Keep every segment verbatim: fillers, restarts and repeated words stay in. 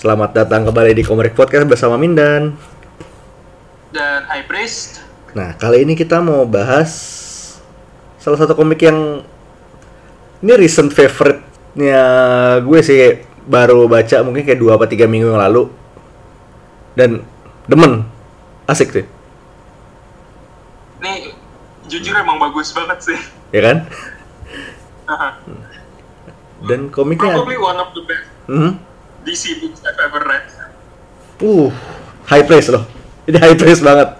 Selamat datang kembali di Komik Podcast bersama Mindan dan High Priest. Nah, kali ini kita mau bahas salah satu komik yang ini recent favorite-nya gue sih, baru baca mungkin kayak dua atau tiga minggu yang lalu. Dan demen, asik sih. Ini jujur emang bagus banget sih. Ya kan? Dan komiknya Probably one of the best hmm? D C books I've ever read. Uh, high praise loh. Ini high praise banget.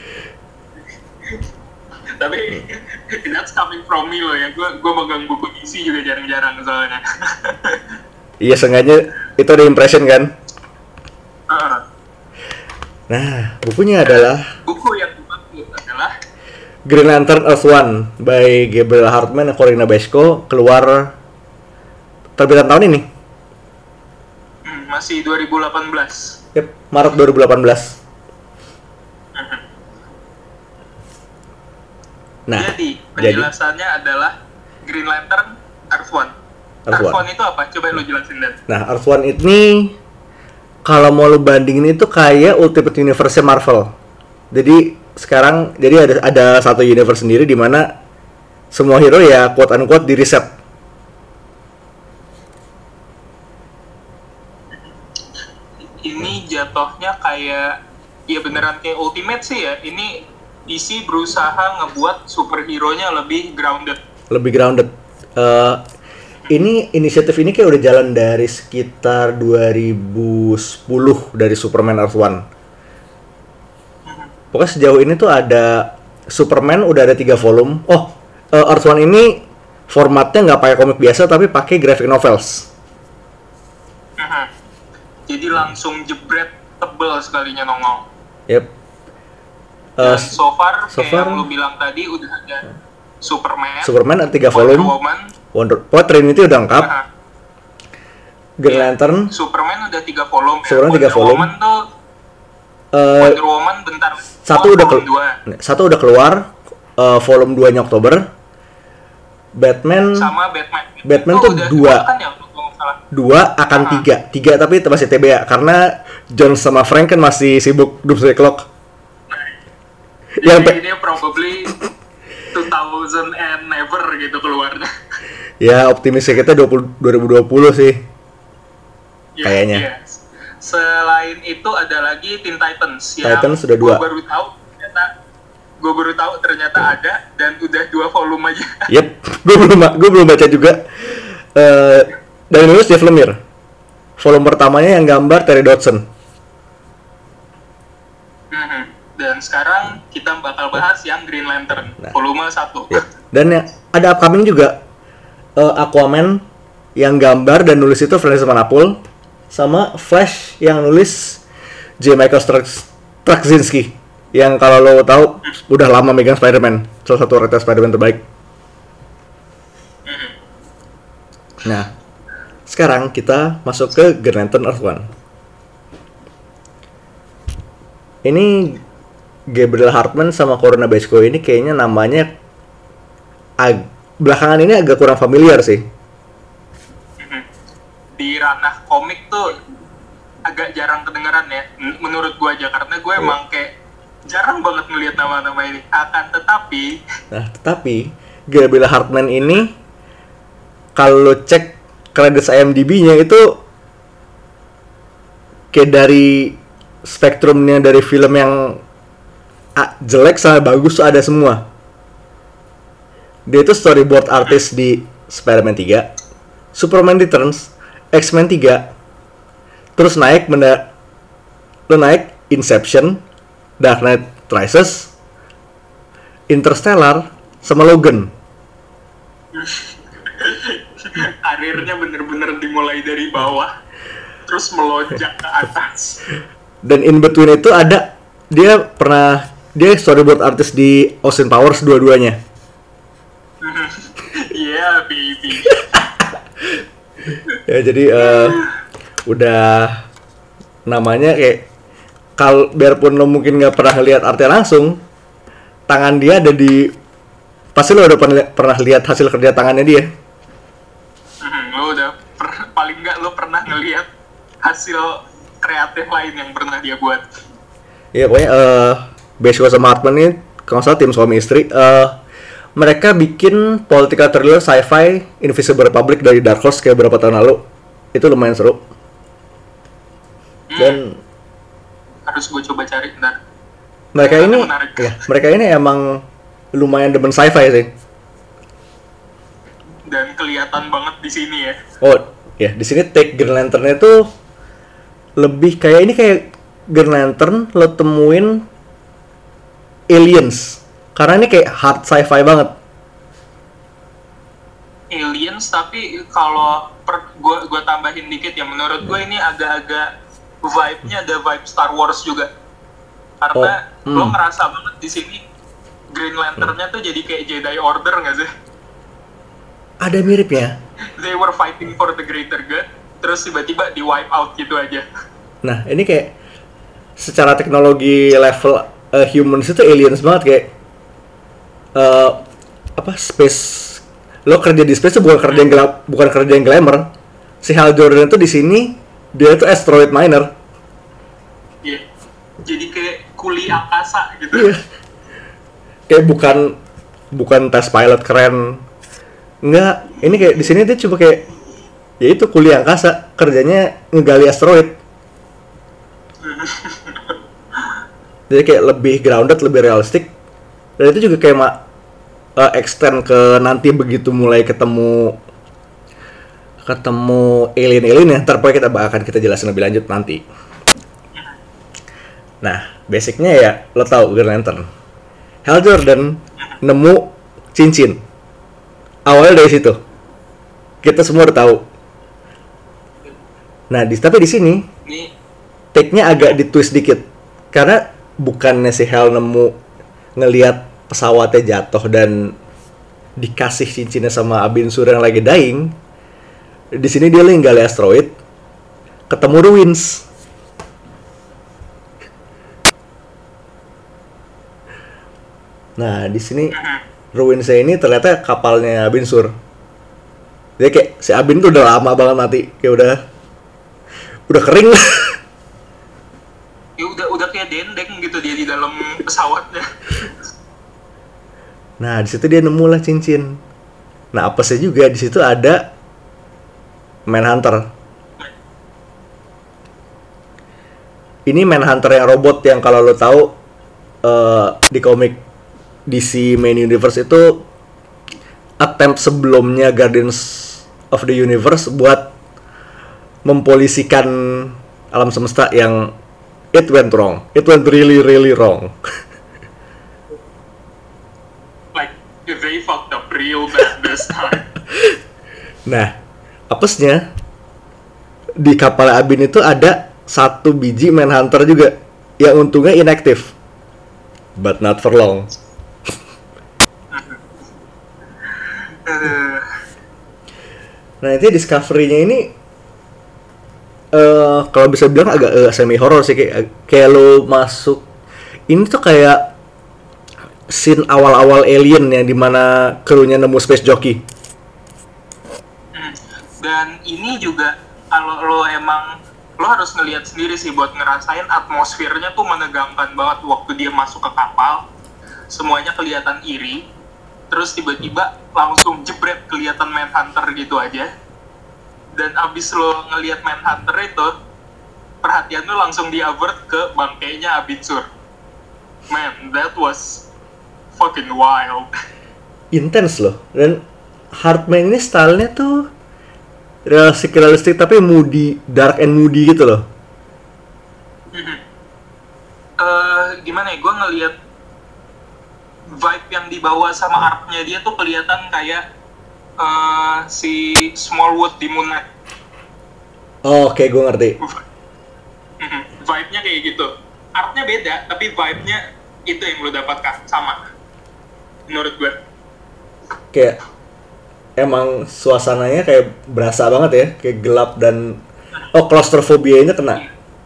Tapi that's coming from me loh ya. Gue gue megang buku D C juga jarang-jarang soalnya. Iya, sengaja itu ada impression kan. Uh, Nah, bukunya adalah buku yang dimaksud adalah Green Lantern Earth One by Gabriel Hartman dan Corinna Bachko, keluar terbitan tahun ini. hmm, masih dua ribu delapan belas. Yep, Maret dua ribu delapan belas. Nah, jadi jadi penjelasannya adalah Green Lantern Earth One. Earth Earth One. One itu apa? Coba lu jelasin Dan. Nah, Earth One ini kalau mau lu bandingin itu kayak Ultimate Universe Marvel. Jadi sekarang jadi ada ada satu universe sendiri di mana semua hero ya quote unquote di reset. Ini jatuhnya kayak ya beneran kayak Ultimate sih ya. Ini D C berusaha ngebuat superhero-nya lebih grounded. Lebih grounded. Uh, ini inisiatif ini kayak udah jalan dari sekitar dua ribu sepuluh dari Superman Earth One. Pokoknya sejauh ini tuh ada Superman udah ada tiga volume. Oh, uh, Earth One ini formatnya nggak pakai komik biasa tapi pakai graphic novels. Mhm. Jadi langsung jebret tebel sekalinya nongol. Yep. Dan Uh, so far, so kayak far- yang lu bilang tadi udah ada Superman, Superman ada tiga Wonder volume. Woman, Wonder, oh Trinity udah lengkap. aha. Green Iya. Lantern, Superman udah tiga volume. ya. Superman tiga Wonder volume. Woman tuh uh, Wonder Woman bentar. satu oh, udah volume kelu- dua. satu udah keluar, uh, volume dua-nya Oktober. Batman Sama Batman. Batman Itu tuh udah dua. kan ya, kalau nggak salah. dua akan Ah. tiga tiga tapi itu masih T B A karena John sama Frank kan masih sibuk Doomsday Clock. Yang Jadi pe- ini probably two thousand and never gitu keluarnya. Ya optimisnya kita dua ribu dua puluh sih. Iya, Kayaknya. iya. Selain itu ada lagi Teen Titans yang Titans sudah dua. Gue baru tahu ternyata gue baru tahu ternyata ada dan udah dua volume aja. Yep, gue belum gue belum baca juga. Uh, dari nulis Jeff Lemire. Volume pertamanya yang gambar Terry Dodson. Mhm. Dan sekarang kita bakal bahas yang Green Lantern Nah. volume satu. Yep. Dan yang ada upcoming juga uh, Aquaman yang gambar dan nulis itu Francis Manapul, sama Flash yang nulis J. Michael Strac- Straczynski yang kalau lo tahu udah lama megang Spider-Man, salah satu writer Spider-Man terbaik. Nah, sekarang kita masuk ke Green Lantern Earth One. Ini Gabriel Hartman sama Corinna Bachko ini kayaknya namanya ag- belakangan ini agak kurang familiar sih. Mhm. Di ranah komik tuh agak jarang kedengeran ya, men- menurut gue aja karena gue emang kayak jarang banget ngelihat nama-nama ini. Akan tetapi Nah, tetapi Gabriel Hartman ini kalau lo cek kredit I M D B-nya itu kayak dari spektrumnya dari film yang ah, jelek sama bagus tuh ada semua. Dia itu storyboard artist di Spider-Man tiga, Superman Returns, X-Men tiga, terus naik menda lo naik Inception, Dark Knight Rises, Interstellar, sama Logan. karirnya bener-bener dimulai dari bawah terus melonjak ke atas. Dan in between itu ada dia pernah dia storyboard artist di Austin Powers dua-duanya. Yeah baby. Ya jadi eh, udah namanya kayak kal biarpun lo mungkin nggak pernah lihat artnya langsung, tangan dia ada di pasti lo udah pernah pernah lihat hasil kerja tangannya dia. Hmm, lo udah per, paling nggak lo pernah ngelihat hasil kreatif lain yang pernah dia buat. Iya pokoknya uh, Beasco sama Hartman ini kalau nggak salah tim suami istri. Uh, mereka bikin political thriller sci-fi Invisible Republic dari Dark Horse kayak beberapa tahun lalu. Itu lumayan seru. Dan hmm. harus gue coba cari ntar. Mereka ya, ini, menarik. ya, mereka ini emang lumayan demen sci-fi sih. Dan kelihatan banget di sini ya. Oh, ya di sini take Green Lantern-nya tuh lebih kayak ini kayak Green Lantern lo temuin aliens. Karena ini kayak hard sci-fi banget. Aliens tapi kalau per, gua gua tambahin dikit ya, menurut gua ini agak-agak vibe-nya ada vibe Star Wars juga. Karena oh, hmm. lo ngerasa banget di sini Green Lantern-nya tuh jadi kayak Jedi Order nggak sih? Ada miripnya. They were fighting for the greater good, terus tiba-tiba di wipe out gitu aja. Nah, ini kayak secara teknologi level uh, humans itu aliens banget kayak uh, apa space. Lo kerja di space itu bukan kerja yang gelap, bukan kerja yang glamour. Si Hal Jordan itu di sini dia tuh asteroid miner. Iya. Yeah. Jadi kayak kuli angkasa gitu. Iya. Kayak bukan bukan tes pilot keren. Enggak, ini kayak di sini dia coba kayak ya itu kuliah angkasa, kerjanya ngegali asteroid. Jadi kayak lebih grounded, lebih realistik. Dan itu juga kayak ma- uh, extend ke nanti begitu mulai ketemu ketemu alien-alien ya, ntar pokoknya kita akan kita jelasin lebih lanjut nanti. Nah, basicnya ya lo tau Green Lantern. Hal Jordan nemu cincin. Awalnya dari situ. Kita semua udah tahu. Nah, di, tapi di sini take-nya agak ditwist dikit. Karena bukannya si Hal nemu ngelihat pesawatnya jatuh dan dikasih cincinnya sama Abin Sur yang lagi dying. Di sini dia lagi gali asteroid, ketemu ruins. Nah, di sini ruinsnya ini ternyata kapalnya Abin Sur. Dia kayak si Abin tuh udah lama banget mati, kayak udah udah kering. Ya udah udah kayak dendeng gitu dia di dalam pesawatnya. Nah, di situ dia nemu lah cincin. Nah, apesnya juga di situ ada Manhunter. Ini Manhunter yang robot yang kalau lo tahu uh, di komik D C Main Universe itu attempt sebelumnya Guardians of the Universe buat mempolisikan alam semesta yang it went wrong. It went really really wrong. Like they fucked up real bad this time. Nah, apesnya di kapal Abin itu ada satu biji Manhunter juga yang untungnya inactive, but not for long. Nah, itu discovery-nya ini uh, kalau bisa bilang agak uh, semi horror sih, kayak kayak lo masuk ini tuh kayak scene awal-awal Alien yang dimana krunya nemu space jockey. Dan ini juga kalau lo emang lo harus ngelihat sendiri sih buat ngerasain atmosfernya tuh menegangkan banget waktu dia masuk ke kapal. Semuanya kelihatan iri. Terus tiba-tiba langsung jebret kelihatan Manhunter gitu aja. Dan abis lo ngelihat Manhunter itu, perhatian lo langsung di-avert ke bangkainya Abin Sur. Man, that was fucking wild. Intense loh. Dan Hartman ini stylenya tuh realistik realistik tapi moody, dark and moody gitu loh. Mm-hmm. Uh, gimana ya, gue ngelihat vibe yang dibawa sama art-nya dia tuh kelihatan kayak uh, si Smallwood di Moon Knight. Oh, oke, okay, gue ngerti. Mm-hmm. Vibe-nya kayak gitu. Art-nya beda, tapi vibe-nya itu yang lo dapatkan sama. Menurut gue. Kayak emang suasananya kayak berasa banget ya, kayak gelap dan oh claustrophobia-nya kena.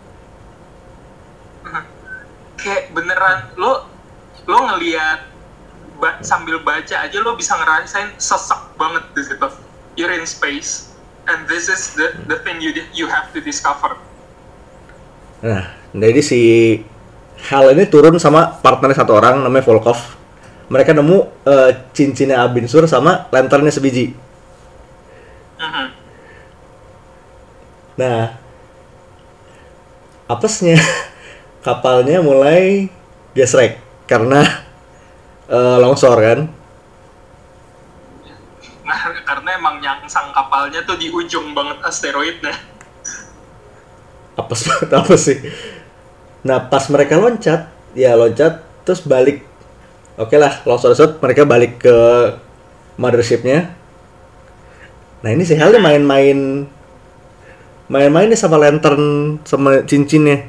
Kayak beneran lo lo ngelihat ba- sambil baca aja lo bisa ngerasain sesek banget di situ. You're in space and this is the the thing you you have to discover. Nah, jadi si Hal ini turun sama partnernya satu orang namanya Volkov. Mereka nemu eh, cincinnya Abin Sur sama lanternnya sebiji. Mhm. Nah, apesnya kapalnya mulai gesrek karena eh, longsor kan. Nah, karena emang nyangsang kapalnya tuh di ujung banget asteroidnya. Apes banget apa sih. Nah, pas mereka loncat, ya loncat terus balik. Oke lah, longsor-longsor mereka balik ke mothership-nya. Nah, ini si Hal main-main main-main nih sama lantern sama cincinnya.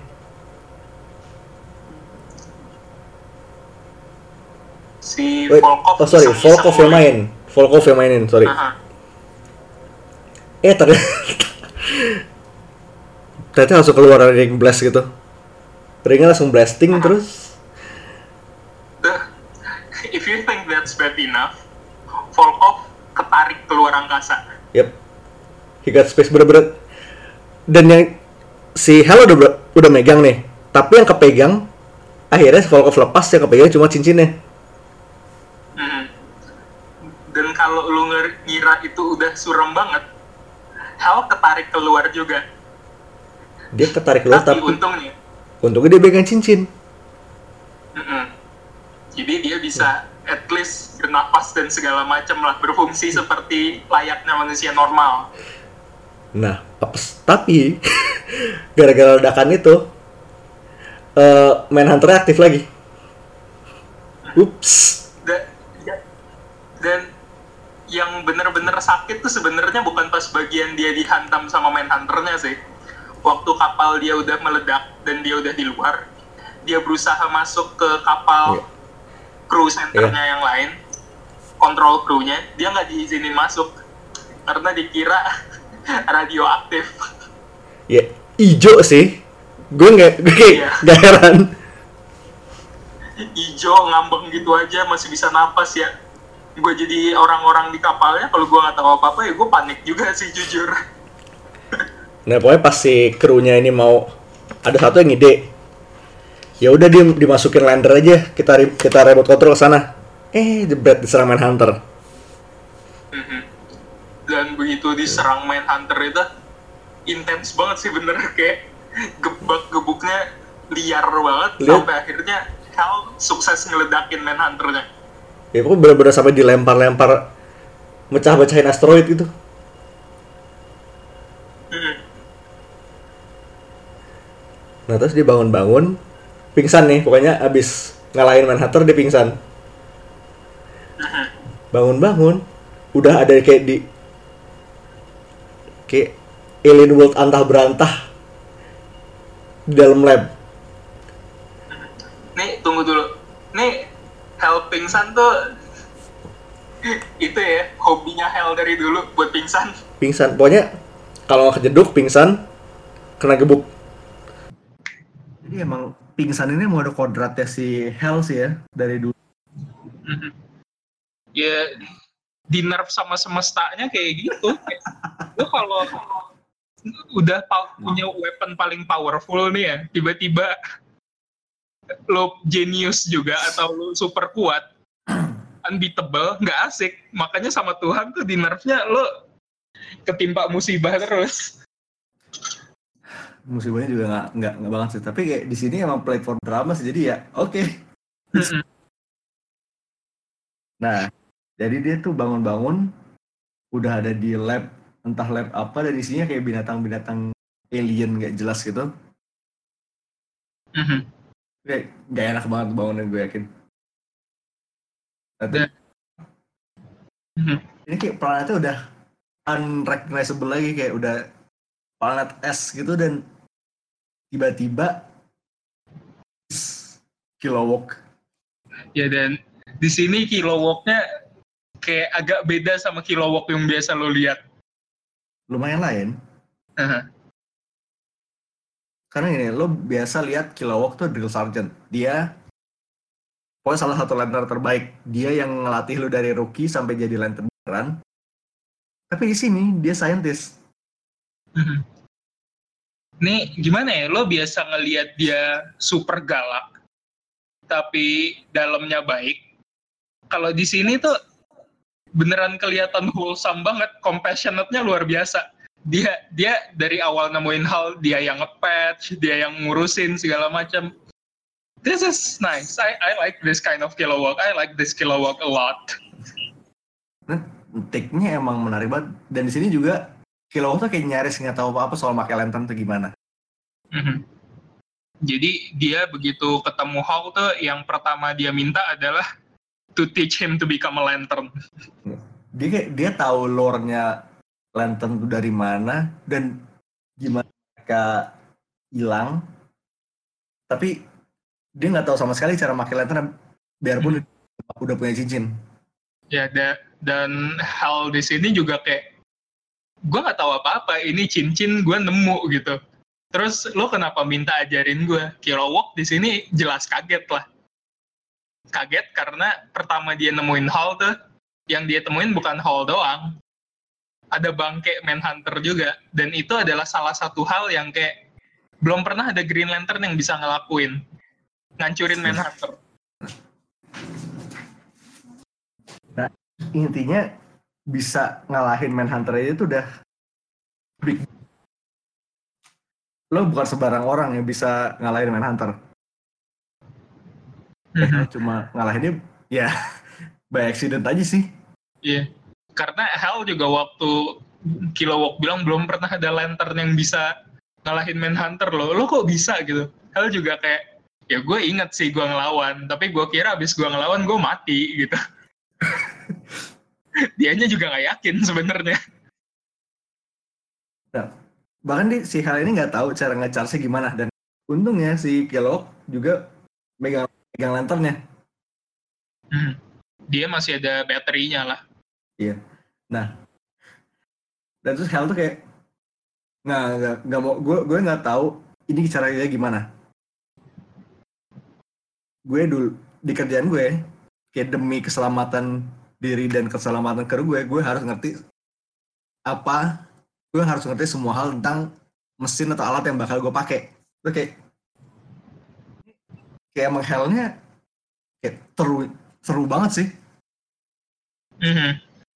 Si Wait, Volkov oh sorry, iseng-iseng Volkov yang mulai. main. Volkov yang mainin, sorry. Aha. Eh, ternyata, ternyata langsung keluar ring blast gitu. Ringnya langsung blasting Aha. terus. The- If you think that's bad enough, Volkov ketarik keluar angkasa. Yep. He got space bener-bener. Dan yang si Hal udah ber- udah megang nih. Tapi yang kepegang akhirnya Volkov lepas, yang kepegang cuma cincinnya. Mhm. Dan kalau lu nger- ngira itu udah suram banget, Hal ketarik keluar juga. Dia ketarik keluar Tapi tapi untungnya, untungnya dia pegang cincin. mhm. Jadi dia bisa at least bernapas dan segala macam lah, berfungsi seperti layaknya manusia normal. Nah, apes. Tapi gara-gara ledakan itu eh Manhunter aktif lagi. Ups. Da- ya- dan yang bener-bener sakit tuh sebenarnya bukan pas bagian dia dihantam sama Manhunter-nya sih. Waktu kapal dia udah meledak dan dia udah di luar, dia berusaha masuk ke kapal Iya. crew centernya yang lain, kontrol krunya, dia nggak diizinin masuk karena dikira radioaktif. Ya, ijo sih. Gue nggak, gue kayak Iya. nggak heran. Ijo ngambang gitu aja masih bisa napas ya. Gue jadi orang-orang di kapalnya, kalau gue nggak tahu apa-apa ya gue panik juga sih jujur. Nah, pokoknya pas si krunya ini mau ada satu yang ngide. Ya udah dia dimasukin lander aja, kita re- kita remote control ke sana. Eh, jebret diserang Manhunter. Mhm. Dan begitu diserang Manhunter itu intens banget sih bener, kayak gebak-gebuknya liar banget. Lihat. Sampai akhirnya Hal sukses ngeledakin Manhunternya. Ya pokoknya bener-bener sampai dilempar-lempar, mecah-mecahin asteroid gitu. Mhm. Nah, terus dia bangun-bangun, pingsan nih, pokoknya abis ngalahin Manhunter dia pingsan. Mhm. Bangun-bangun, udah ada kayak di kayak alien world antah berantah di dalam lab. Nih tunggu dulu, nih Hal pingsan tuh itu ya hobinya Hal dari dulu buat pingsan. Pingsan, pokoknya kalau nggak kejeduk pingsan, kena gebuk. Jadi emang pingsan ini mau ada kodratnya si Hell sih ya dari dulu. Mhm. Ya di nerf sama semestanya kayak gitu. Lo kalau udah pa- punya weapon paling powerful nih ya, tiba-tiba lo genius juga atau lo super kuat, unbeatable, nggak asik. Makanya sama Tuhan tuh di nerfnya lo ketimpa musibah terus. Musibahnya juga nggak nggak nggak banget sih. Tapi kayak di sini emang play for drama sih. Jadi ya oke. Mhm. Nah, jadi dia tuh bangun-bangun udah ada di lab, entah lab apa, dan isinya kayak binatang-binatang alien nggak jelas gitu. Mhm. Kayak nggak enak banget bangunin, gue yakin. Nah, tuh, Dan- Mhm. ini kayak planetnya udah unrecognizable lagi, kayak udah planet es gitu, dan tiba-tiba Kilowog. Ya dan di sini Kilowog-nya kayak agak beda sama Kilowog yang biasa lo lihat. Lumayan lain. Aha. Karena ini lo biasa lihat Kilowog tuh drill sergeant. Dia pokoknya salah satu lantern terbaik. Dia yang ngelatih lo dari rookie sampai jadi lantern beneran. Tapi di sini dia scientist. Mhm. nih gimana ya, lo biasa ngelihat dia super galak tapi dalamnya baik. Kalau di sini tuh beneran kelihatan wholesome banget, compassionate-nya luar biasa. Dia dia dari awal nemuin hal, dia yang nge-patch, dia yang ngurusin segala macam. This is nice. I I like this kind of Kilowog. I like this Kilowog a lot. Nah, take-nya emang menarik banget. Dan di sini juga Kilowog tuh kayak nyaris nggak tahu apa-apa soal pakai lantern tuh gimana. Mm-hmm. Jadi dia begitu ketemu Hawk tuh yang pertama dia minta adalah to teach him to become a lantern. Dia kayak dia tahu lore-nya lantern itu dari mana dan gimana mereka hilang. Tapi dia nggak tahu sama sekali cara pakai lantern biarpun hmm. udah punya cincin. Ya, da- dan hal di sini juga kayak gue nggak tahu apa-apa, ini cincin gue nemu gitu. Terus lo kenapa minta ajarin gue? Kilowog di sini jelas kaget lah. Kaget karena pertama dia nemuin Hall tuh, yang dia temuin bukan Hall doang. Ada bangke Manhunter juga. Dan itu adalah salah satu hal yang kayak belum pernah ada Green Lantern yang bisa ngelakuin. Ngancurin Manhunter. Nah, intinya bisa ngalahin Manhunter aja itu udah big. Lo bukan sebarang orang yang bisa ngalahin Manhunter. Mm-hmm. Cuma ngalahinnya ya by accident aja sih. Iya, yeah. Karena Hal juga waktu Kilowog bilang belum pernah ada lantern yang bisa ngalahin Manhunter loh. Lo kok bisa gitu? Hal juga kayak, ya gue inget sih gue ngelawan, tapi gue kira abis gue ngelawan gue mati gitu. Dianya juga nggak yakin sebenarnya. Nah, bahkan di, si Hal ini nggak tahu cara nge-charge gimana, dan untungnya si Kilowog juga megang megang lanternnya. Hmm. Dia masih ada baterinya lah. Iya. Nah, dan terus Hal tuh kayak nggak nggak nggak mau, gue gue nggak tahu ini caranya gimana. Gue dulu di kerjaan gue kayak demi keselamatan diri dan keselamatan kru gue, gue harus ngerti apa, gue harus ngerti semua hal tentang mesin atau alat yang bakal gue pakai. Terus kayak kayak emang Hal-nya kayak seru seru banget sih. Mm-hmm.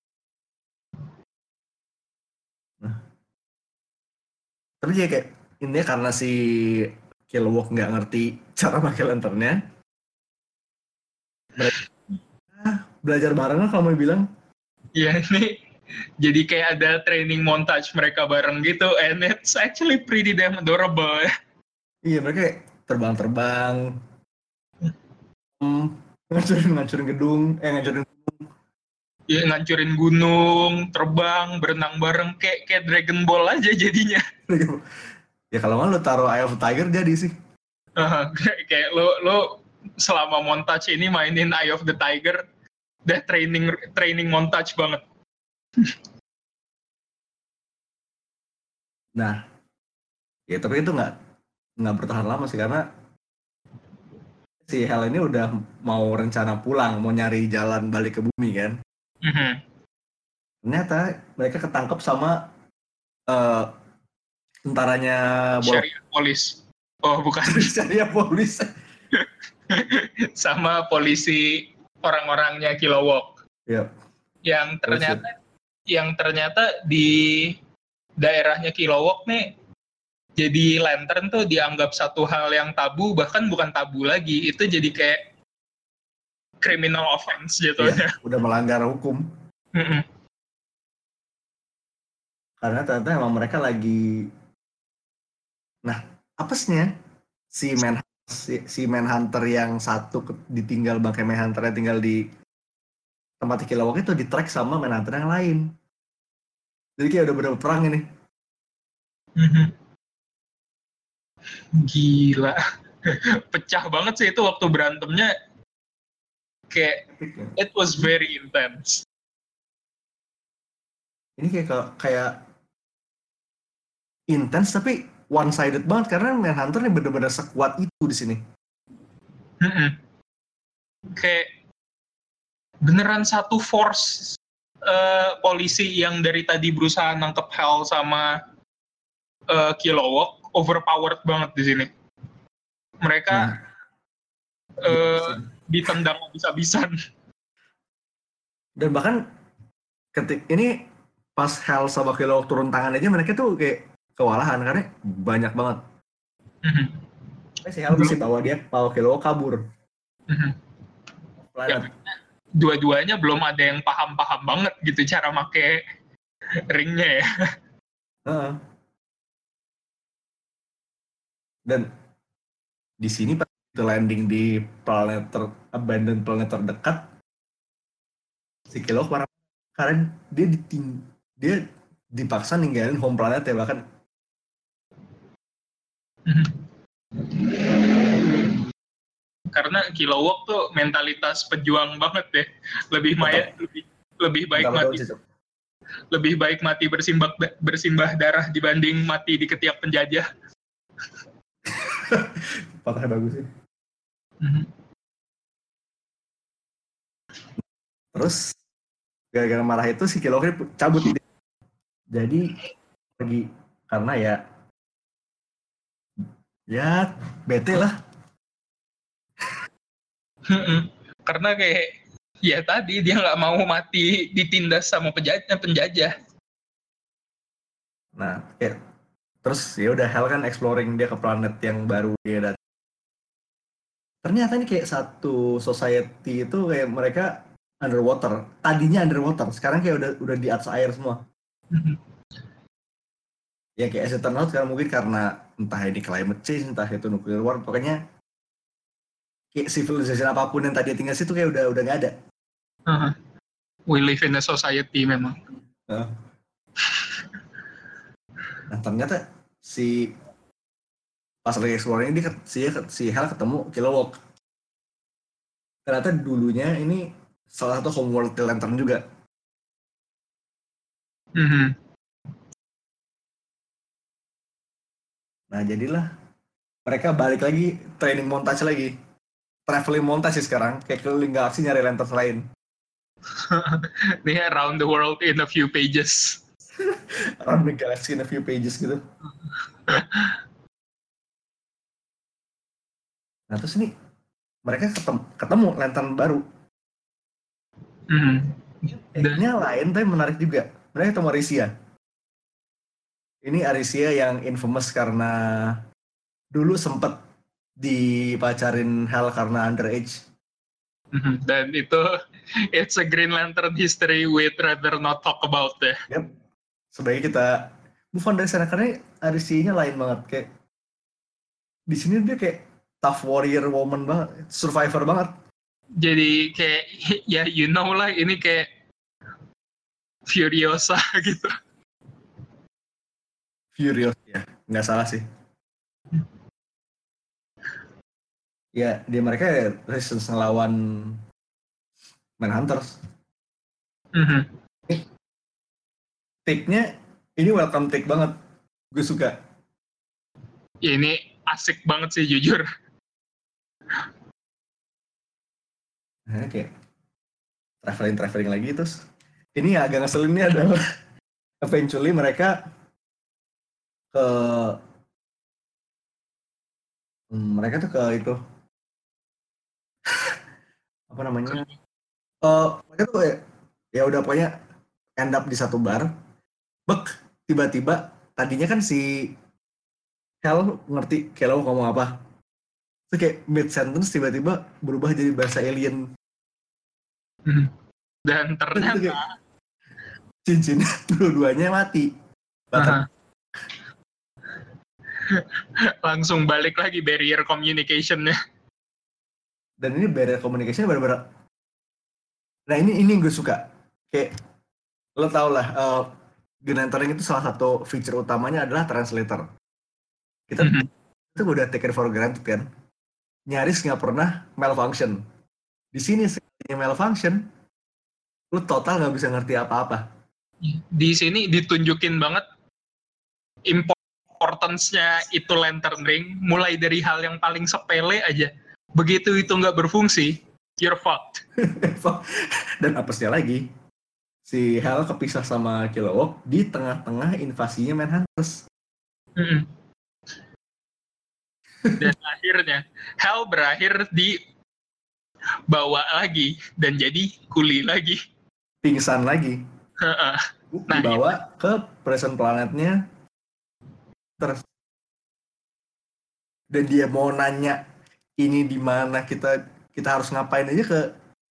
Nah, tapi dia kayak intinya karena si Kilowog nggak ngerti cara pakai lanternnya, belajar, belajar bareng lah kamu bilang. Iya, ini jadi kayak ada training montage mereka bareng gitu, and it's actually pretty damn adorable. Iya, mereka kayak terbang-terbang, hmm, ngancurin ngancurin gedung, eh ngancurin gunung. Ya, ngancurin gunung, terbang, berenang bareng, kayak kayak Dragon Ball aja jadinya. Ya kalau nggak lo taruh Eye of the Tiger jadi sih. Uh, kayak, kayak lo lo selama montage ini mainin Eye of the Tiger, udah training training montage banget. Nah, ya tapi itu nggak nggak bertahan lama sih, karena si Hal ini udah mau rencana pulang, mau nyari jalan balik ke bumi kan. Mm-hmm. Ternyata mereka ketangkep sama uh, tentaranya Syariah Polis. Oh bukan. Syariah Polis. Sama polisi orang-orangnya Kilowog. Yep. Yang ternyata Terus, yang ternyata di daerahnya Kilowog nih, jadi lantern tuh dianggap satu hal yang tabu, bahkan bukan tabu lagi, itu jadi kayak criminal offense jatuhnya. Ya, udah melanggar hukum. Mm-mm. Karena ternyata emang mereka lagi, nah apesnya si man si, si Manhunter yang satu ditinggal bangkai Manhunter yang tinggal di tempat Kilowog itu di-track sama Manhunter yang lain. Jadi kayak udah bener-bener perang ini. Mm-hmm. Gila. Pecah banget sih itu waktu berantemnya. Kayak it was very intense. Ini kayak kayak intens tapi one sided banget karena Manhunter nih bener-bener sekuat itu di sini. Mm-hmm. Kayak beneran satu force uh, polisi yang dari tadi berusaha nangkep Hal sama uh, Kilowog overpowered banget di sini. Mereka Nah, uh, ditendang habis-habisan. Dan bahkan ketik ini pas Hell sama Kilowog turun tangan aja mereka tuh kayak kewalahan karena banyak banget. Mm-hmm. Si Hell masih bawa dia, bawa Kilowog kabur. Mm-hmm. Ya, dua-duanya belum ada yang paham-paham banget gitu cara make ringnya ya. Uh-huh. Dan di sini pas itu landing di planet ter, abandoned planet terdekat, si Kilowog marah karena dia diting, dia dipaksa ninggalin home planet ya bahkan. Karena Kilowog tuh mentalitas pejuang banget ya, lebih maya, lebih lebih baik Betul, mati betul, lebih baik mati bersimbah bersimbah darah dibanding mati di ketiak penjajah. Patahnya bagus sih. Mm-hmm. Terus gara-gara marah itu si Kilowog cabut ide. Jadi pergi karena ya ya bete lah. Karena kayak ya tadi dia nggak mau mati ditindas sama penjajah penjajah. Nah, ya terus ya udah Hell kan exploring dia ke planet yang baru dia datang. Ternyata ini kayak satu society itu kayak mereka underwater. Tadinya underwater, sekarang kayak udah udah di atas air semua. Ya kayak as it turns out sekarang mungkin karena entah ini climate change, entah itu nuclear war, pokoknya kayak civilization apapun yang tadi tinggal situ kayak udah udah nggak ada. Uh-huh. We live in a society memang. Uh. Nah ternyata si pas lagi exploring ini si si Hell ketemu Kilowog. Ternyata dulunya ini salah satu homeworld Lantern juga. Mm-hmm. Nah jadilah mereka balik lagi training montage lagi. Traveling montage sih sekarang, kayak keliling galaksi nyari lanterns lain. Ini around the world in a few pages. Around the galaxy in a few pages gitu. Nah terus ini mereka ketemu, ketemu lantern baru. Mm-hmm. Ini lain tapi menarik juga. Mereka ketemu Arisia. Ini Arisia yang infamous karena dulu sempet dipacarin Hell karena underage. Mm-hmm. Dan itu it's a Green Lantern history we'd rather not talk about deh. Yep. Sebaiknya kita move on dari sana karena Arisia-nya lain banget kayak di sini dia kayak tough warrior woman banget, survivor banget. Jadi kayak ya you know lah ini kayak Furiosa gitu. Furious ya, nggak salah sih. Ya, dia mereka resistance ngelawan Manhunters. Mm-hmm. Take-nya ini welcome take banget. Gue suka. Ya, ini asik banget sih jujur. Nah, kayak traveling-traveling lagi terus. Ini agak ngeselin nih adalah eventually mereka ke hmm, mereka tuh ke itu apa namanya? Uh, mereka tuh ya, ya udah pokoknya end up di satu bar. Bek, tiba-tiba tadinya kan si Hell ngerti kalau ngomong apa. Terus kayak mid sentence tiba-tiba berubah jadi bahasa alien. Dan ternyata cincin dua-duanya mati. Uh-huh. Langsung balik lagi barrier communication-nya. Dan ini barrier communication benar-benar. Nah ini ini gue suka. Kayak lo tau lah, uh, Green Lantern itu salah satu feature utamanya adalah translator. Kita mm-hmm. itu udah taken for granted kan. Nyaris nggak pernah malfunction. Di sini sekalinya malfunction, lo total nggak bisa ngerti apa-apa. Di sini ditunjukin banget importance-nya itu Lantern Ring, mulai dari hal yang paling sepele aja. Begitu itu nggak berfungsi, you're fucked. Dan apesnya lagi, si Hell kepisah sama Kilowog di tengah-tengah invasinya Manhunters. Mm-hmm. Dan akhirnya Hal berakhir di bawa lagi dan jadi kuli lagi. Pingsan lagi. Heeh. Nah, Dibawa ke present planetnya. Terus dan dia mau nanya ini di mana kita kita harus ngapain aja ke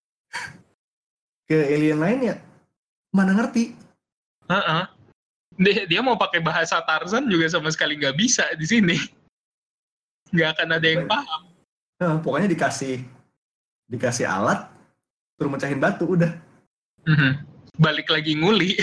ke alien lainnya. Mana ngerti? Heeh. Dia, dia mau pakai bahasa Tarzan juga sama sekali nggak bisa di sini. Nggak akan ada yang paham. Nah, pokoknya dikasih dikasih alat, suruh mecahin batu, udah. Mm-hmm. Balik lagi nguli.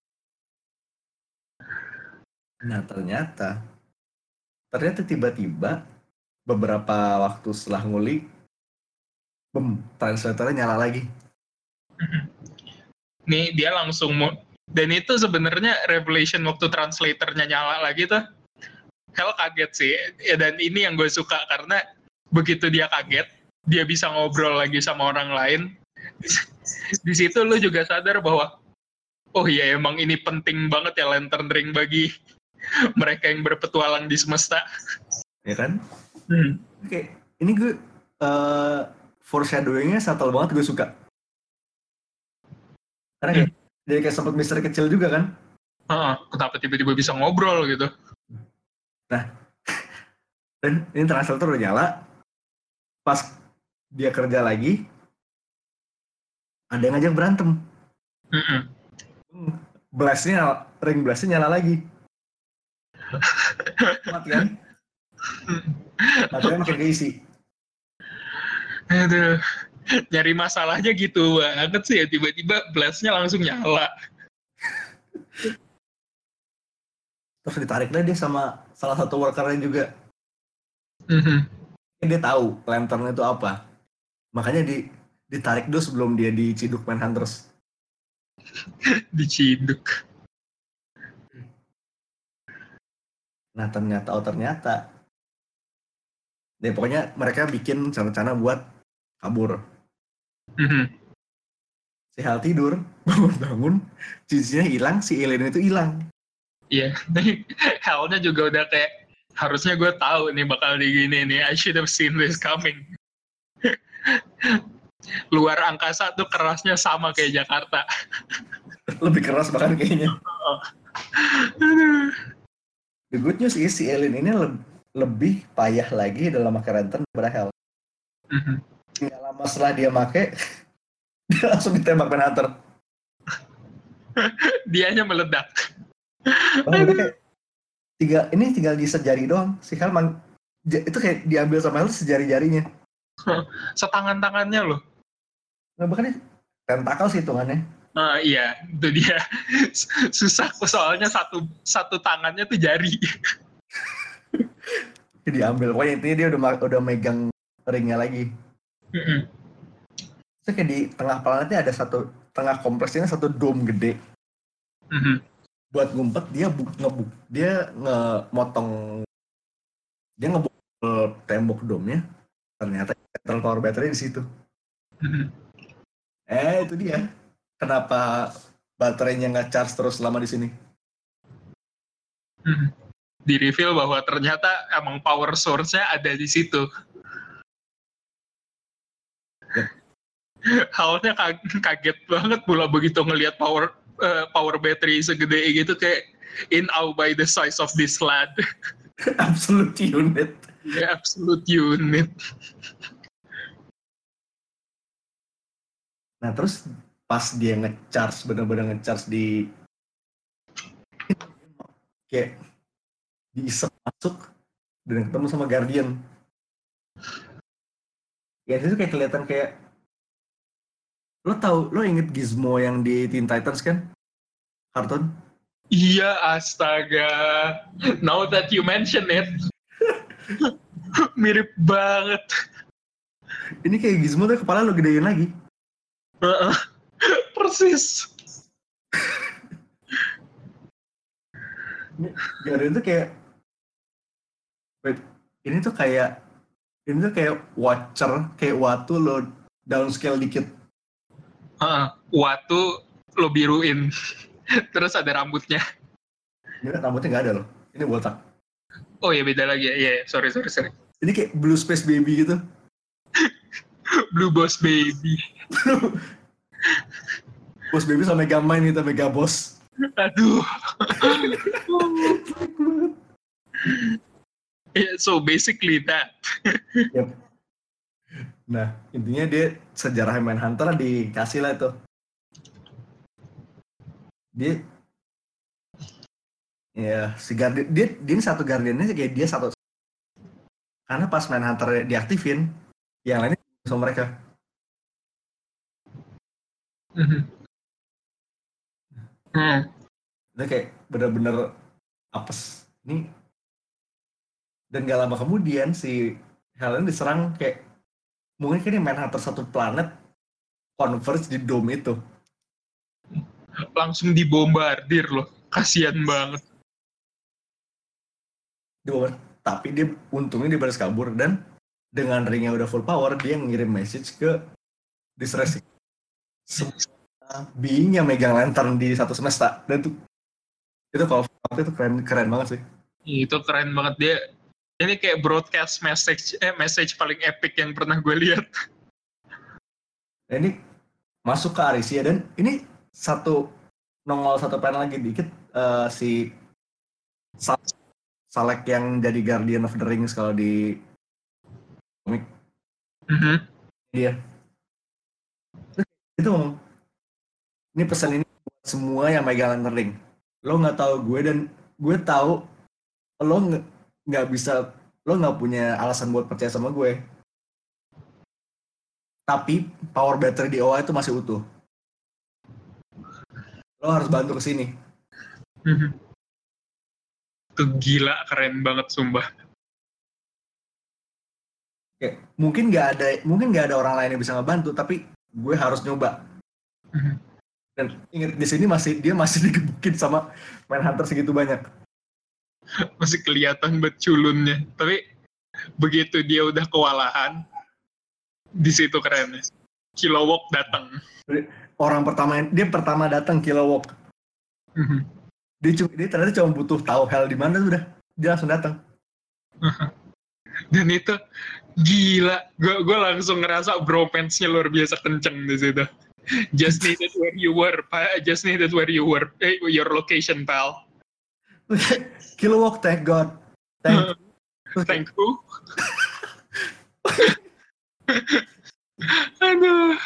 Nah ternyata, ternyata tiba-tiba beberapa waktu setelah nguli, bem, translatornya nyala lagi. Mm-hmm. Nih dia langsung mau, dan itu sebenarnya revelation waktu translatornya nyala lagi tuh. Hell kaget sih, ya, dan ini yang gue suka karena begitu dia kaget, dia bisa ngobrol lagi sama orang lain. Di situ lu juga sadar bahwa, oh iya emang ini penting banget ya Lantern Ring bagi mereka yang berpetualang di semesta. Ya kan? Hmm. Oke, ini gue uh, foreshadowing-nya subtle banget, gue suka. Karena kayak hmm. dia kayak sempat misteri kecil juga kan? Uh, kenapa tiba-tiba bisa ngobrol gitu? Nah, dan ini translator udah nyala. Pas dia kerja lagi, ada yang ngajak berantem. Mm-mm. Blastnya, ring blastnya nyala lagi. Mati kan? Baterainya makin keisi. Aduh, nyari masalahnya gitu banget sih ya, tiba-tiba blastnya langsung nyala. Terus ditarik deh dia sama salah satu workernya juga. Mm-hmm. Dia tahu lantern itu apa. Makanya di, ditarik dulu sebelum dia diciduk Manhunters. Diciduk. Nah ternyata, oh ternyata. Nah, pokoknya mereka bikin rencana buat kabur. Mm-hmm. Si Hal tidur, bangun-bangun, cincinnya hilang, si alien itu hilang. Iya, yeah. Hal-nya juga udah kayak, harusnya gue tahu nih bakal digini nih, I should have seen this coming. Luar angkasa tuh kerasnya sama kayak Jakarta. Lebih keras bahkan kayaknya. The good news is si alien ini le- lebih payah lagi dalam pakai lantern daripada Hal. Mm-hmm. Nggak lama setelah dia make, dia langsung ditembak Manhunter. Dianya meledak. Oh, udah kayak tiga, ini tinggal di sejari doang. Si Hal man, itu kayak diambil sama Hal sejari-jarinya. Setangan-tangannya loh. Nah, bahkan tentakel sih hitungannya. Uh, iya, itu dia. Susah soalnya satu satu tangannya tuh jari. Diambil, pokoknya intinya dia udah udah megang ringnya lagi. Mm-hmm. Terus kayak di tengah planetnya ada satu, tengah kompleksnya satu dome gede. Mm-hmm. Buat ngumpet dia bu, ngebuk, dia ngemotong, dia ngebuk tembok dome-nya. Ternyata central power battery di situ. Mm-hmm. Eh itu dia. Kenapa baterainya nggak charge terus selama di sini? Mm-hmm. Di reveal bahwa ternyata emang power source-nya ada di situ. Yep. Halnya kaget banget pula begitu ngelihat power uh, power battery segede gitu, kayak in awe by the size of this lad. Absolute unit. Ya, yeah, absolute unit. Nah terus pas dia nge-charge, bener-bener nge-charge di kayak diisep masuk dan ketemu sama Guardian. Ya itu kayak kelihatan kayak, lo tau, lo inget Gizmo yang di Teen Titans kan? Kartun? Iya, astaga. Now that you mention it. Mirip banget. Ini kayak Gizmo tuh kepala lo gedein lagi. Uh-uh. Persis. Guardian tuh kayak, wait, ini tuh kayak, ini tuh kayak Watcher, kayak Watu lo downscale dikit. Uh, Watu lo biruin. Terus ada rambutnya. Ini rambutnya nggak ada loh, ini botak. Oh ya beda lagi ya, yeah, sorry sorry sorry. Ini kayak Blue Space Baby gitu. Blue Boss Baby. Boss Baby sama Mega Mind gitu, Mega Boss. Aduh. Yeah, so basically that. Yep. Nah, intinya dia sejarah Manhunter dikasih lah itu. Dia ya si Guardian, dia, dia ini satu Guardiannya kayak dia satu. Karena pas Manhunter diaktifin, yang lainnya sama mereka. Mm-hmm. Hmm. Dia kayak bener-bener apes. Ini dan gak lama kemudian si Helen diserang kayak mungkin kan Manhunter satu planet converge di dome itu. Langsung dibombardir loh. Kasian banget. Dibombardir. Tapi dia untungnya dia baris kabur dan dengan ringnya udah full power dia ngirim message ke Distress. Semua being yang megang lantern di satu semesta dan tuh itu kalau itu keren keren banget sih. Itu keren banget dia. Ini kayak broadcast message eh message paling epic yang pernah gue lihat. Nah, ini masuk ke Arisia dan ini satu nongol satu panel lagi dikit uh, si Salek yang jadi Guardian of the Rings kalau di komik. Mm-hmm. Iya. Itu ngomong, ini pesan ini buat semua yang megang lantern ring. Lo nggak tahu gue dan gue tahu lo nggak bisa, lo nggak punya alasan buat percaya sama gue. Tapi power battery di O A itu masih utuh. Lo harus bantu kesini. Mm-hmm. Itu gila, keren banget sumpah. Kayak, mungkin nggak ada, mungkin nggak ada orang lain yang bisa ngebantu, tapi gue harus nyoba. Mm-hmm. Dan ingat di sini masih dia masih digebukin sama Manhunter segitu banyak. Masih kelihatan bet culunnya. Tapi begitu dia udah kewalahan, di situ kerennya. Kilowog datang. Orang pertama dia pertama datang Kilowog. Mm-hmm. Dia cuma dia ternyata cuma butuh tahu hell di mana udah dia langsung datang. Dan itu gila, gue gue langsung ngerasa bromance-nya luar biasa kenceng di situ. Just needed where you were, just needed where you were, eh, your location, pal. Kilowog, thank God. Thank, thank who? Aduh.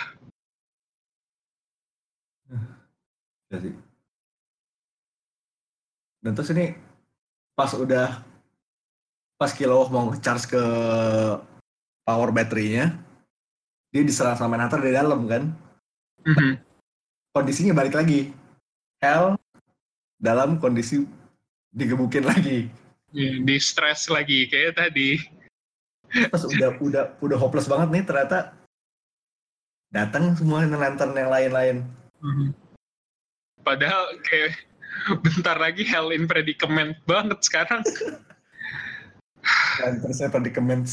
Jadi. Dan terus ini pas udah pas Kilowog mau charge ke power battery-nya, dia diserang sama Manhunter dari dalam kan. Mm-hmm. Kondisinya balik lagi. Hell dalam kondisi digebukin lagi. Yeah, di stress lagi kayak tadi. Pas udah udah udah hopeless banget nih ternyata datang semua lantern yang lain-lain. Mm-hmm. Padahal kayak bentar lagi hell in predicament banget sekarang. Lantern saya predicament.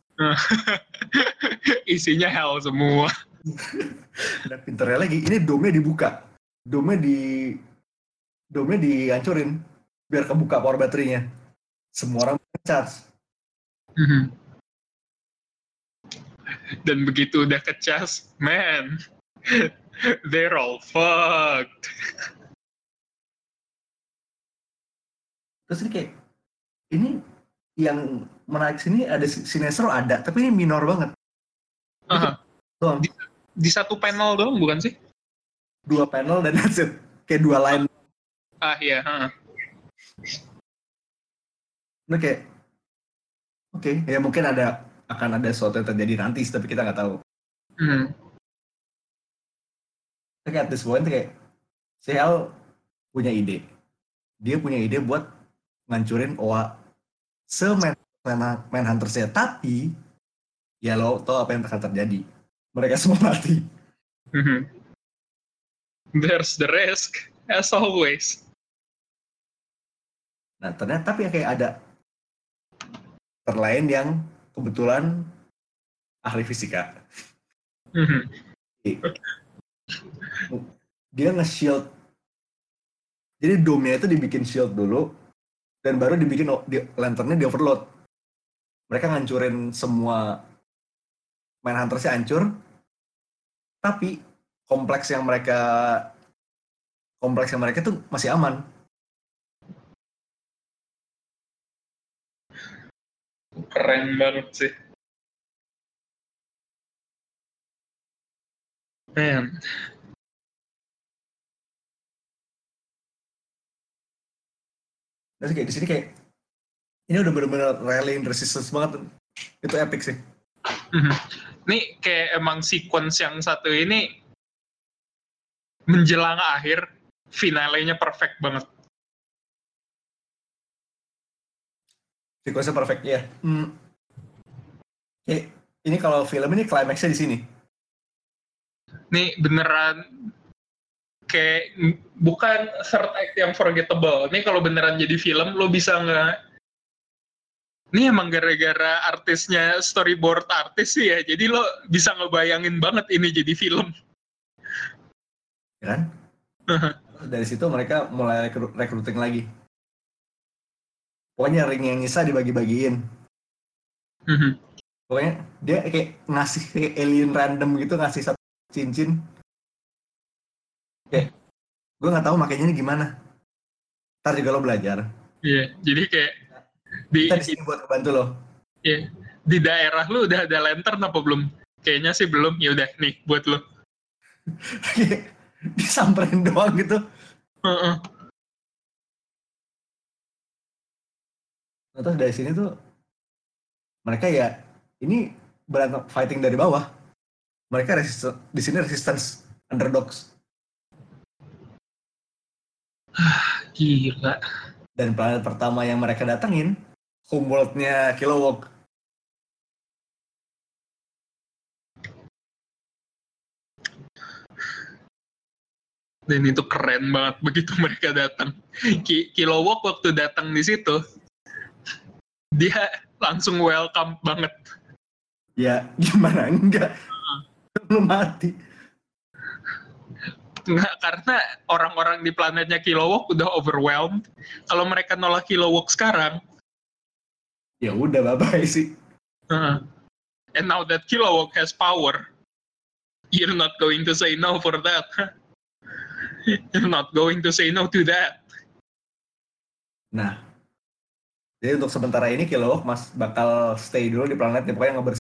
Isinya hell semua. Dan pinternya lagi, ini dome-nya dibuka. Dome di dome dihancurin biar kebuka power baterainya. Semua orang charge. Mm-hmm. Dan begitu udah kecas, man, they're all fucked. Terus ini kayak, ini yang menarik sini ada Sinestro ada, tapi ini minor banget. Uh-huh. Di, di satu panel doang bukan sih? Dua panel dan that's it. Kayak dua line. Ah iya. Uh-huh. Nah kayak, oke, okay, ya mungkin ada akan ada sesuatu yang terjadi nanti, tapi kita nggak tahu. Mm. Tapi at this point kayak, si Hel punya ide. Dia punya ide buat ngancurin O A se-Manhunter-nya. Tapi, ya lo tau apa yang akan terjadi. Mereka semua mati. Mm-hmm. There's the risk, as always. Nah, ternyata tapi kayak ada terlain yang kebetulan ahli fisika. Mm-hmm. Dia nge-shield. Jadi dome-nya itu dibikin shield dulu, dan baru dibikin di, lanternnya di overload. mereka ngancurin semua Mindhunter-nya hancur, tapi kompleks yang mereka kompleks yang mereka tuh masih aman. Keren banget sih. Man. Dan kayak di sini kayak ini udah benar-benar rallying resistance banget. Itu epic sih. Mm-hmm. Nih kayak emang sequence yang satu ini menjelang akhir, finalenya perfect banget. Sequence-nya perfect ya. Hmm. Kayak ini kalau film ini climax-nya di sini. Nih beneran kayak bukan third act yang forgettable. Nih kalau beneran jadi film lo bisa nggak? Ini emang gara-gara artisnya storyboard artis sih ya. Jadi lo bisa ngebayangin banget ini jadi film. Ya kan? Dari situ mereka mulai rekru- recruiting lagi. Pokoknya ring yang nyisa dibagi-bagiin. Pokoknya dia kayak ngasih kayak alien random gitu, ngasih satu cincin. Kayak gue nggak tahu makainya ini gimana. Ntar juga lo belajar. Iya, yeah, jadi kayak di, kita di sini buat ngebantu lo. Iya, yeah, di daerah lu udah ada lantern apa belum? Kayaknya sih belum. Ya udah nih buat lo. Disamperin doang gitu. Uh-uh. Nah, terus dari sini tuh mereka ya ini berantem fighting dari bawah. Mereka resist, di sini resistance underdogs. Gila. Dan planet pertama yang mereka datengin, homeworld-nya Kilowog. Dan itu keren banget begitu mereka datang. Kilowog waktu datang di situ, dia langsung welcome banget. Ya gimana enggak? Lu mati. Nggak, karena orang-orang di planetnya Kilowog udah overwhelmed. Kalau mereka nolak Kilowog sekarang, ya udah bye-bye sih. Uh, and now that Kilowog has power, you're not going to say no for that. You're not going to say no to that. Nah, jadi untuk sementara ini Kilowog mas bakal stay dulu di planetnya, pokoknya ngebersih.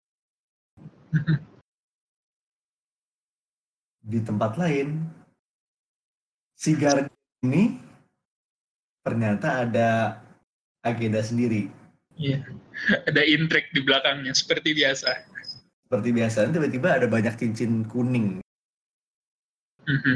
Di tempat lain, si Guardian ini ternyata ada agenda sendiri. Iya, yeah. Ada intrik di belakangnya seperti biasa. Seperti biasa, tiba-tiba ada banyak cincin kuning. Mm-hmm.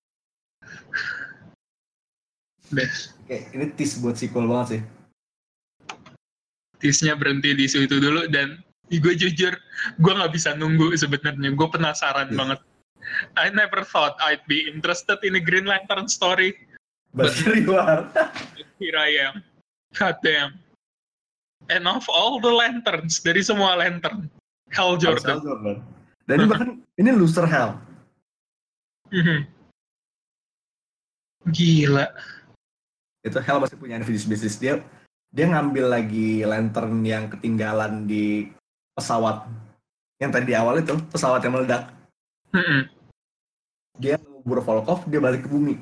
Best. Oke, ini tease buat sequel banget sih. Tease-nya berhenti di situ dulu dan gue jujur, gue nggak bisa nunggu sebenarnya. Gue penasaran yes. banget. I never thought I'd be interested in a Green Lantern story. But, but here you are. Here I am. God damn. And of all the lanterns, dari semua lantern, Hal Jordan. Hal Jordan. Dan ini bahkan ini loser Hal. Gila. Itu Hal masih punya unfinished business. Dia dia ngambil lagi lantern yang ketinggalan di pesawat. Yang tadi di awal itu, pesawat yang meledak. Mm-hmm. Dia ngubur Volkov, dia balik ke bumi.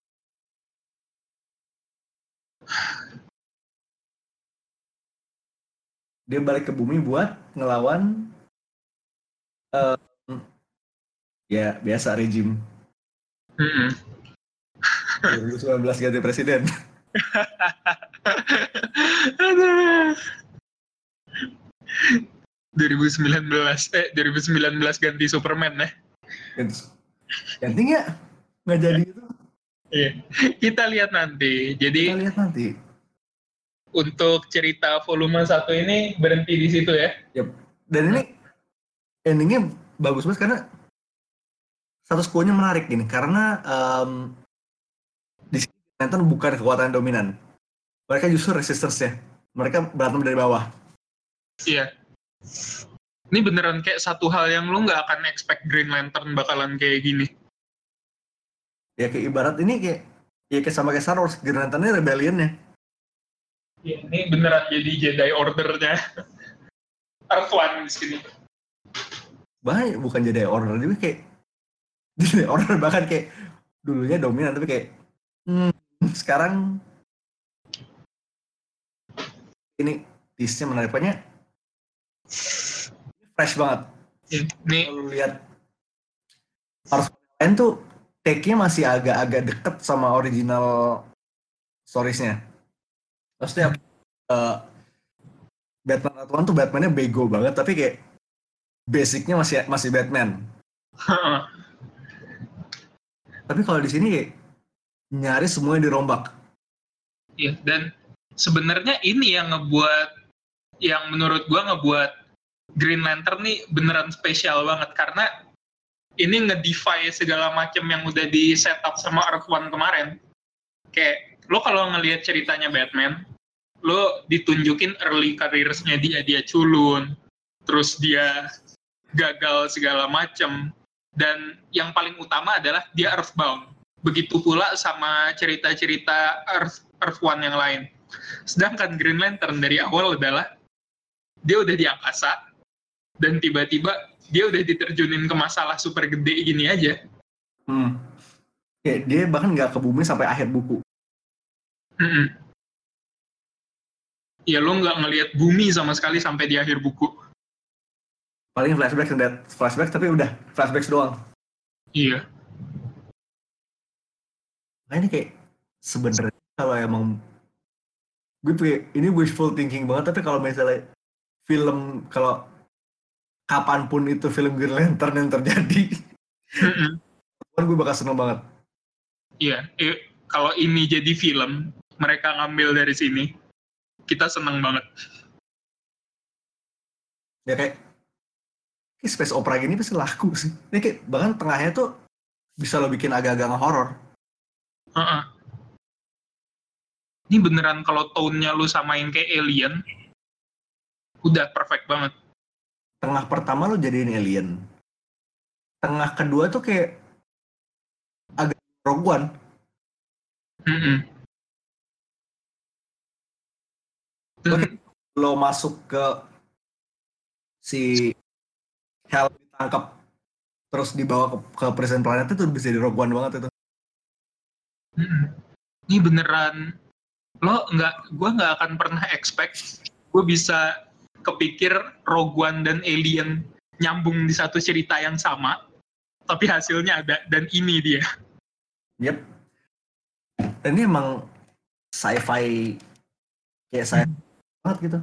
Dia balik ke bumi buat ngelawan uh, ya biasa rejim. Mm-hmm. dua ribu sembilan belas ganti presiden. dua ribu sembilan belas eh dua ribu sembilan belas ganti Superman ya. Ganti nggak? Nggak jadi itu. Iya. Kita lihat nanti. Jadi kita lihat nanti. Untuk cerita volume satu ini berhenti di situ ya. Yep. Dan ini endingnya bagus banget karena status quo-nya menarik gini. Karena um, di sini Lantern bukan kekuatan dominan. Mereka justru resistance-nya. Mereka berantem dari bawah. Iya. Ini beneran kayak satu hal yang lu nggak akan expect Green Lantern bakalan kayak gini. Ya kayak ibarat ini kayak ya kayak sama kayak Star Wars, Green Lantern-nya rebellion-nya. Ya, ini beneran jadi Jedi Order-nya. Earth One di sini. Bahkan bukan jadi order juga kayak jadi order bahkan kayak dulunya dominan tapi kayak hmm, sekarang ini tisnya menarik banyak fresh banget. Nih kalau lihat harus lain tuh take-nya masih agak-agak deket sama original storiesnya. Maksudnya uh, Batman Earth One tuh Batman-nya bego banget tapi kayak basicnya masih masih Batman. Tapi kalau di sini kayak nyaris semuanya dirombak. Iya, dan sebenarnya ini yang ngebuat, yang menurut gua ngebuat Green Lantern nih beneran spesial banget karena ini nge-defy segala macam yang udah di setup sama Earth One kemarin. Kayak lo kalau ngelihat ceritanya Batman, lo ditunjukin early careers-nya dia, dia culun, terus dia gagal segala macam, dan yang paling utama adalah dia Earthbound. Begitu pula sama cerita-cerita Earth, Earth One yang lain. Sedangkan Green Lantern dari awal adalah dia udah di angkasa, dan tiba-tiba dia udah diterjunin ke masalah super gede gini aja. Hmm. Kayak dia bahkan nggak ke bumi sampai akhir buku. Mm-mm. Ya lo nggak ngelihat bumi sama sekali sampai di akhir buku. Paling flashback dan flashback tapi udah flashback doang. Iya. Nah ini kayak sebenarnya kalau emang gue kayak ini wishful thinking banget tapi kalau misalnya film kalau kapanpun itu film Green Lantern yang terjadi, kan gue bakal seneng banget. Iya, eh, kalau ini jadi film, mereka ngambil dari sini, kita seneng banget. Ya kayak, kayak space opera gini pasti laku sih. Ini kayak bahkan tengahnya tuh bisa lo bikin agak-agak nge-horror. Uh-uh. Ini beneran kalau tone-nya lu samain kayak Alien, udah perfect banget. Tengah pertama lo jadiin Alien. Tengah kedua tuh kayak agak Rogue One. Mm-mm. Dan, Oke, lo masuk ke si Hal ditangkap terus dibawa ke, ke Prison Planet itu bisa di Rogue One banget itu. mm-mm. Ini beneran, lo nggak, gue nggak akan pernah expect gue bisa kepikir Rogue One dan Alien nyambung di satu cerita yang sama, tapi hasilnya ada, dan ini dia. Yep. Dan ini emang sci-fi kayak sci-fi banget gitu.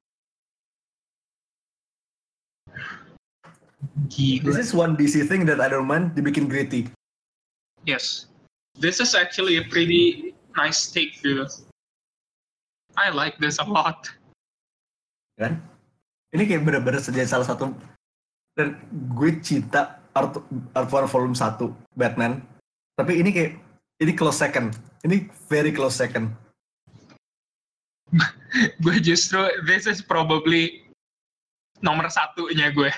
Gila. This is one D C thing that I don't mind dibikin gritty. Yes. This is actually a pretty nice take, dude. I like this a lot. Kan? Ini kayak bener-bener jadi salah satu dan gue cinta Art, Art One Volume satu Batman. Tapi ini kayak ini close second. Ini very close second. Gue justru this is probably nomor satunya gue.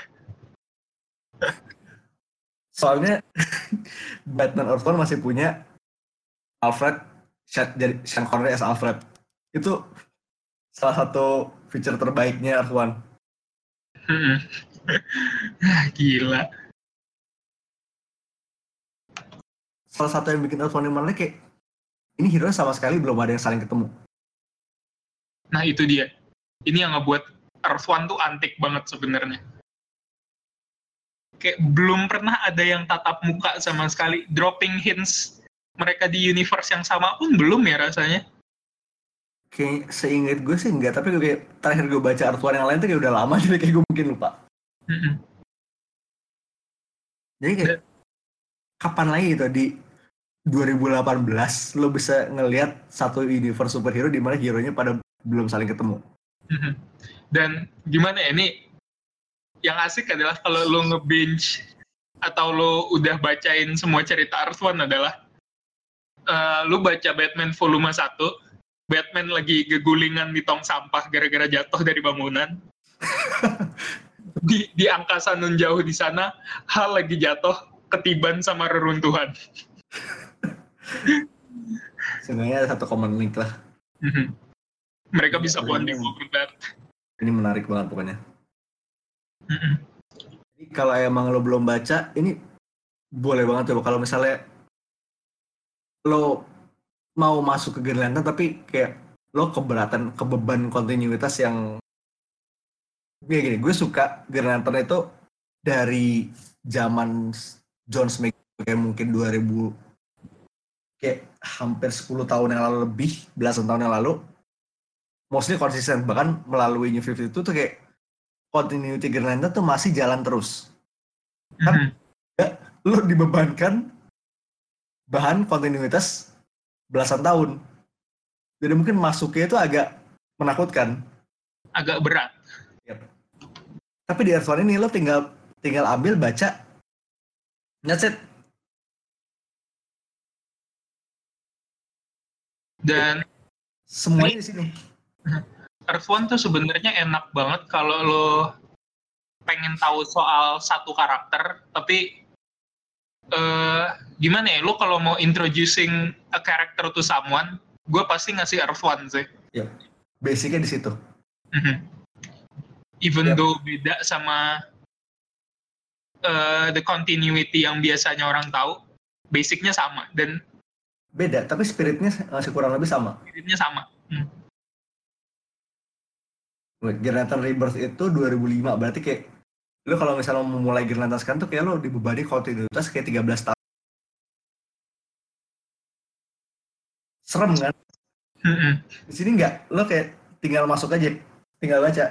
Soalnya Batman Earth One masih punya Alfred jadi Sean Connery as Alfred. Itu salah satu feature terbaiknya Earth One. Gila. Salah satu yang bikin Earth One menarik kayak ini hero sama sekali belum ada yang saling ketemu. Nah itu dia. Ini yang ngebuat Earth One tuh antik banget sebenarnya. Kayak belum pernah ada yang tatap muka sama sekali. Dropping hints mereka di universe yang sama pun belum ya rasanya. Kayak seingat gue sih enggak, tapi kayak terakhir gue baca Earth One yang lain tuh kayak udah lama jadi kayak gue mungkin lupa. Mm-mm. Jadi kayak kapan lagi gitu di dua ribu delapan belas lo bisa ngelihat satu universe superhero di mana hero-nya pada belum saling ketemu. Mm-hmm. Dan gimana ya, ini yang asik adalah kalau lo nge-binge atau lo udah bacain semua cerita Earth One adalah uh, lo baca Batman volume satu, Batman lagi gegulingan di tong sampah gara-gara jatuh dari bangunan. di, di angkasa nun jauh di sana, Hal lagi jatuh ketiban sama reruntuhan. Sebenarnya ada satu common link lah. Mm-hmm. Mereka bisa Ini- bonding over that. Ini menarik banget pokoknya. Mm-mm. Jadi kalau emang lo belum baca, ini boleh banget coba kalau misalnya lo mau masuk ke Green Lantern tapi kayak lo keberatan, kebeban kontinuitas yang kayak gini. Gue suka Green Lantern itu dari zaman John Smith kayak mungkin dua ribu, kayak hampir sepuluh tahun yang lalu, lebih belasan tahun yang lalu, mostly konsisten. Bahkan melalui New fifty itu tuh kayak continuity Green Lantern tuh masih jalan terus. Kan ya, lo dibebankan bahan kontinuitas belasan tahun. Jadi mungkin masuknya itu agak menakutkan. Agak berat. Yep. Tapi di Earth One ini lo tinggal tinggal ambil, baca, that's it. Dan semuanya di sini. Earth One tuh sebenarnya enak banget kalau lo pengen tahu soal satu karakter, tapi uh, gimana ya, lo kalau mau introducing a character to someone, gue pasti ngasih Earth One sih. Yep. Basicnya di situ. Mm-hmm. Even Yep. though beda sama uh, the continuity yang biasanya orang tahu, basicnya sama dan beda, tapi spiritnya masih kurang lebih sama. Spiritnya sama. Hmm. Green Lantern Rebirth itu dua ribu lima, berarti kayak lo kalau misalnya mau mulai Green Lantern sekarang tuh kayak lo dibebani kontinuitas kayak tiga belas tahun. Serem kan? Mm-hmm. Di sini enggak, lo kayak tinggal masuk aja, tinggal baca.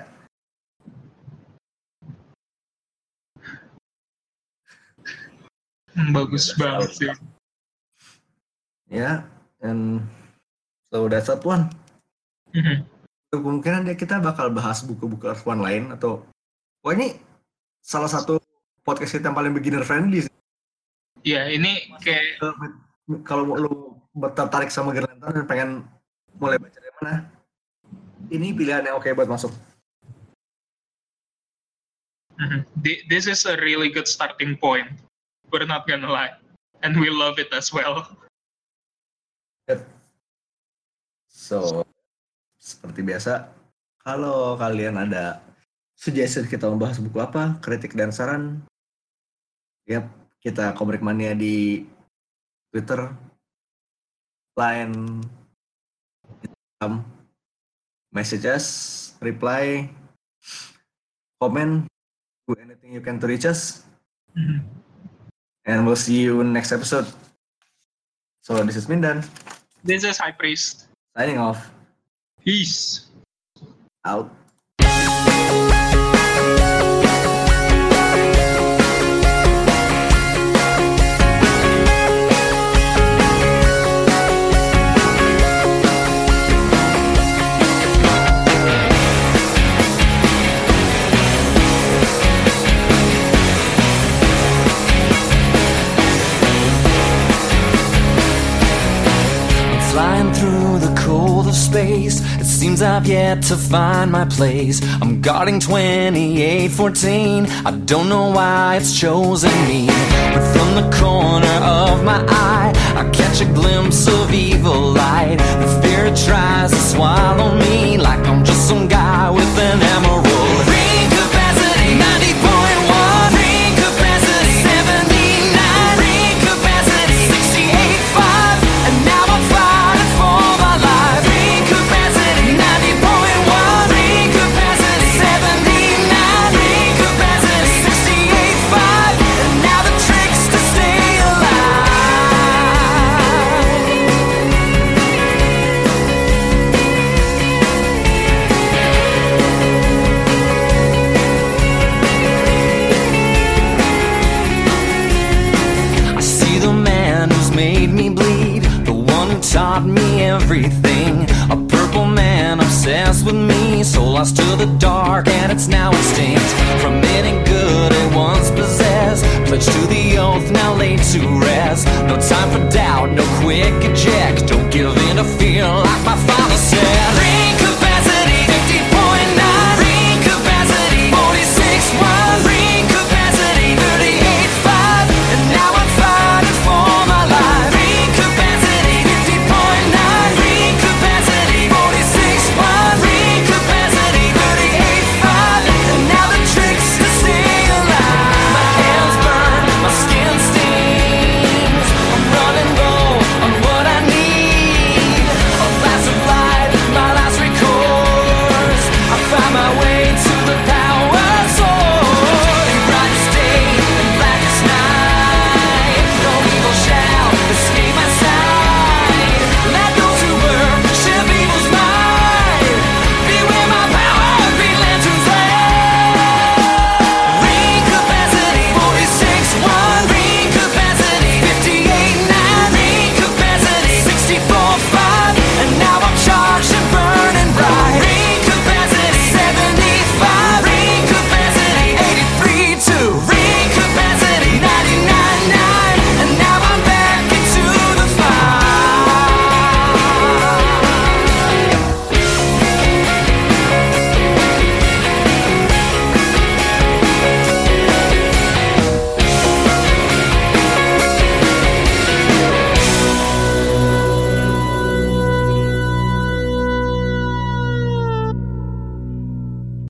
Bagus banget sih. Ya, and so that's that one. Mm-hmm. Kemungkinan dia kita bakal bahas buku-buku Earth One lain atau, wah ini salah satu podcast kita yang paling beginner friendly. Ya, ini kayak kalau lo tertarik sama Green Lantern dan pengen mulai baca dari mana, ini pilihan yang oke buat masuk. Mm-hmm. This is a really good starting point. We're not gonna lie, and we love it as well. Yep. So, seperti biasa, kalau kalian ada suggestion kita membahas buku apa, kritik dan saran, yep, kita Komik Mania di Twitter, Line, Instagram, message us, reply, comment, do anything you can to reach us, Mm-hmm. and we'll see you next episode. So this is Mindan. This is High Priest. Signing off. Peace. Out. Flying through the cold of space, it seems I've yet to find my place. I'm guarding twenty-eight fourteen, I don't know why it's chosen me. But from the corner of my eye, I catch a glimpse of evil light. The fear tries to swallow me like I'm just some guy with an emerald. Ring capacity ninety point one, ring capacity seventy-nine, ring capacity sixty-eight point five, and now I'm fighting for my life. Ring capacity ninety point one, ring capacity seventy-nine, ring capacity sixty-eight point five, and now the trick's to stay alive. I see the man who's made me bleed, the one who taught me everything. A purple man obsessed with me, so lost to the dark and it's now extinct. From any good it once possessed, pledged to the oath now laid to rest. No time for doubt, no quick eject, don't give in to fear.